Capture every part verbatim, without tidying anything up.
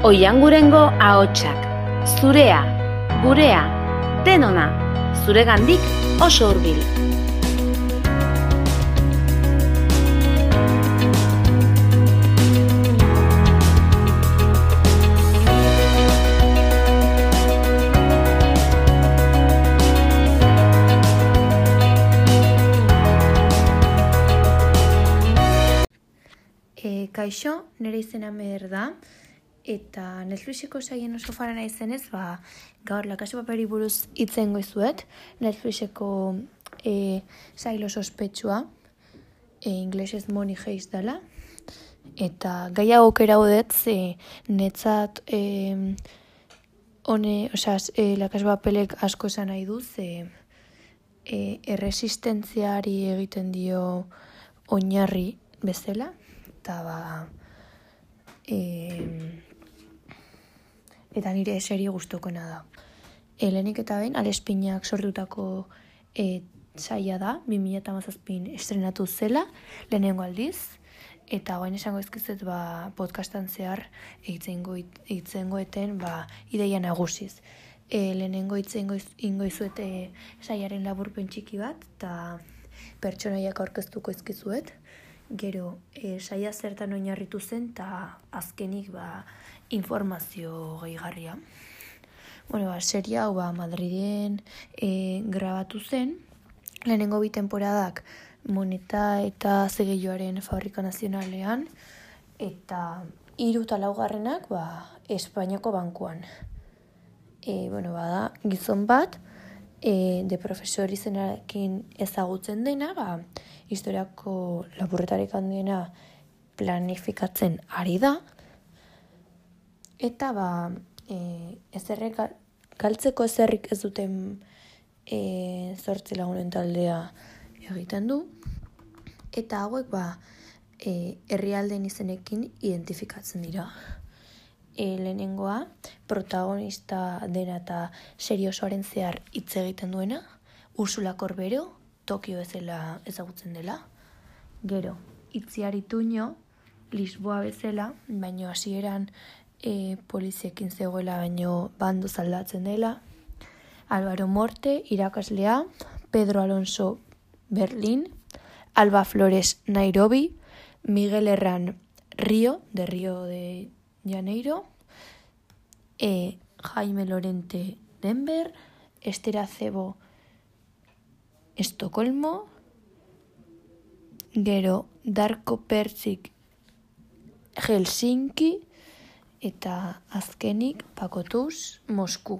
Oiangurengo ahotsak, zurea, gurea, denona, zuregandik oso hurbil. E, kaixo, nire izena Mer da, eta Netflixeko saien oso fara naizenez, ba, gaur La Casa de Papeli buruz hitzen goizuet. Netflixeko e, sail oso ospetsua, e, inglesez Money Heist dela, eta gai hau aukera udet, ze netzat e, hone, osea, e, La Casa de Papelek asko esan nahi du, ze e, erresistentziari egiten dio oinarri bezala, eta ba, e, eta nire serie gustukoena da. E, lehenik eta behin, Alespinak sortutako e, saia da, bi mila hamazazpin estrenatu zela, lehenengo aldiz, eta guain esango ezkizet ba, podcastan zehar eitzen goeten ba, ideia nagusiz. E, lehenengo eitzen ingoizuet e, saiaren laburpen txiki bat, eta pertsonaiak aurkeztuko ezkizuet. Gero, e, saia zertan oinarritu zen, eta azkenik ba, informazio gehigarria. Bueno, ba, seria hau ba, Madriden e, grabatu zen, lehenengo bi temporadak Moneta eta Zegeioaren Fabrika Nazionalean, eta hiru eta laugarrenak ba, Espainiako bankuan. E, bueno, bada, gizon bat, e, de profesor izenarekin ezagutzen dena, ba, historiako lapurretarik handiena planifikatzen ari da, eta ba, e, ezerrek, galtzeko ezerrik ez duten e, zortzi lagunen taldea egiten du, eta hauek ba, e, herrialdeen izenekin identifikatzen dira. E, lehenengoa, protagonista dena eta serie osoaren zehar hitz egiten duena, Ursula Corbero, Tokio bezala ezagutzen dela. Gero, Itziar Ituño, Lisboa bezala, baino hasieran e, poliziekin zegoela, baino bando zaldatzen dela. Álvaro Morte, irakaslea, Pedro Alonso, Berlín, Alba Flores, Nairobi, Miguel Herrán, Río, de Río de Janeiro, e, Jaime Lorente, Denver, Esther Acebo, Estocolmo, gero Darko Pertzik, Helsinki, eta azkenik Pakotuz, Mosku.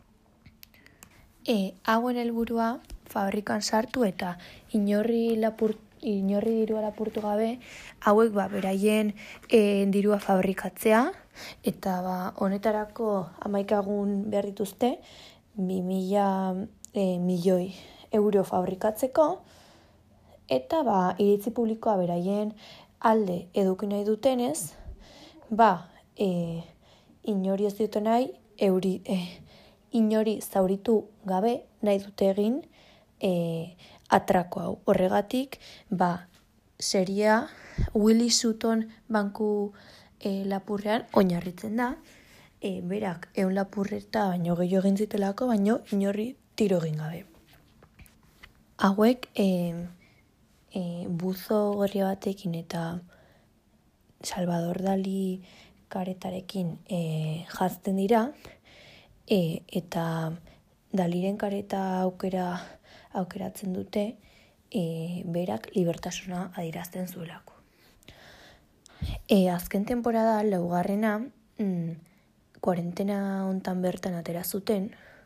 E, hauen helburua fabrikan sartu eta inorri lapur, inorri dirua lapurtu gabe, hauek ba, beraien e, dirua fabrikatzea, eta ba, honetarako hamaikagun behar dituzte, bi mila e, milioi euro fabrikatzeko, eta ba, iritzi publikoa beraien alde eduki nahi dutenez, ba, e, inori ez dute nahi, euri, e, inori zauritu gabe nahi dute egin e, atrako hau. Horregatik, ba, seria Willy Sutton banku e, lapurrean oinarritzen da, e, berak ehun lapurreta baino gehiago egin zitelako, baino inori tiro egin gabe. Hauek e, e, buzo gorria batekin eta Salvador Dali karetarekin e, jazten dira, e, eta Daliren kareta aukera aukeratzen dute e, berak libertasuna adierazten zuelako. E, azken temporada laugarrena mm, kuarentena hontan bertan atera zuten,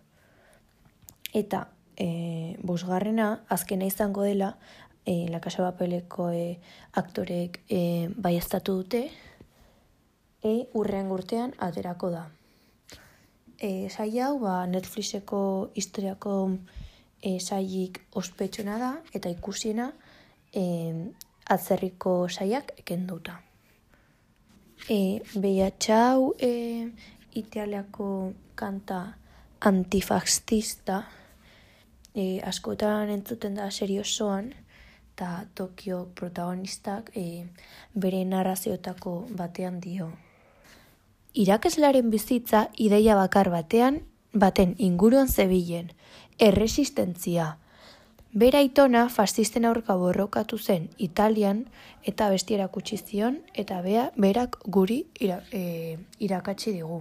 eta E, bosgarrena, azkena izango dela, e, La Casa de Papeleko e, aktorek e, baieztatu dute, e, urrean urtean aterako da. E, saia hau, ba, Netflixeko historiako e, sailik ospetsuna da, eta ikusiena e, atzerriko saiak ekenduta. E, Behiatxau e, Italiako kanta antifaxista, E, askotan entzuten da serie osoan, eta Tokio protagonistak e, bere narrazioetako batean dio. irakaslearen bizitza ideia bakar batean, baten inguruan zebilen, erresistentzia. Bera aitona fascisten aurka borrokatu zen Italian eta besti erakutsi zion eta bea, berak guri ira, e, irakatsi digu.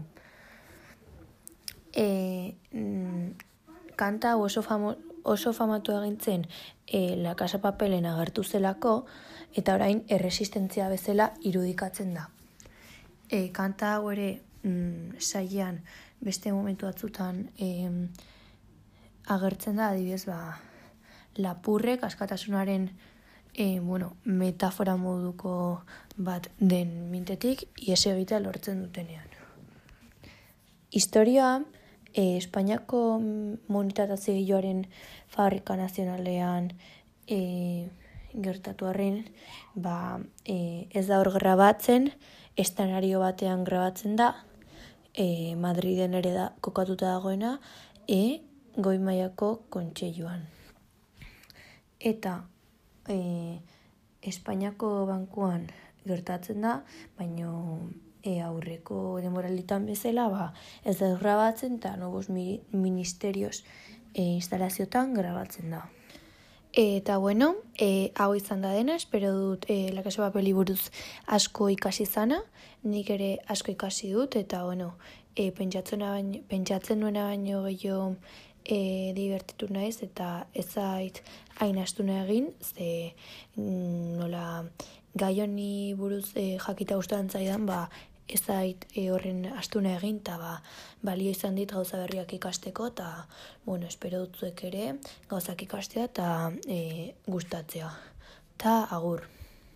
E, mm, kanta oso, famo, oso famatu egintzen e, La Casa Papelen agertu zelako eta orain erresistentzia bezala irudikatzen da. E, kanta hau ere mm, sailean beste momentu batzutan e, agertzen da, adibidez ba, lapurrek askatasunaren e, bueno, metafora moduko bat den mintetik ihes egitea lortzen dutenean. Historia e, Espainiako monetatazioaren fabrika nazionalean e, gertatu arren, ba, e, ez da hor grabatzen, estenario batean grabatzen da, e, Madriden ere da kokatuta dagoena, e, goi mailako kontseiluan. Eta e, Espainiako bankuan gertatzen da, baino e, aurreko denboralitan bezala, ba, ez da grabatzen eta nobos mi, ministerios e, instalaziotan grabatzen da. E, eta bueno, e, hau izan da dena, espero dut e, La Casa Papeli buruz asko ikasi zana, nik ere asko ikasi dut, eta bueno, e, pentsatzen, baino, pentsatzen nuena baino gehiago E, divertitu naiz eta ez zait hain astuna egin, ze mm, nola gai honi buruz e, jakita gustatzen zaidan, ba, ez zait e, horren astuna egin, eta ba, balio izan dit gauza berriak ikasteko, eta bueno, espero dut zuek ere gauzak ikastea eta e, gustatzea. Ta agur.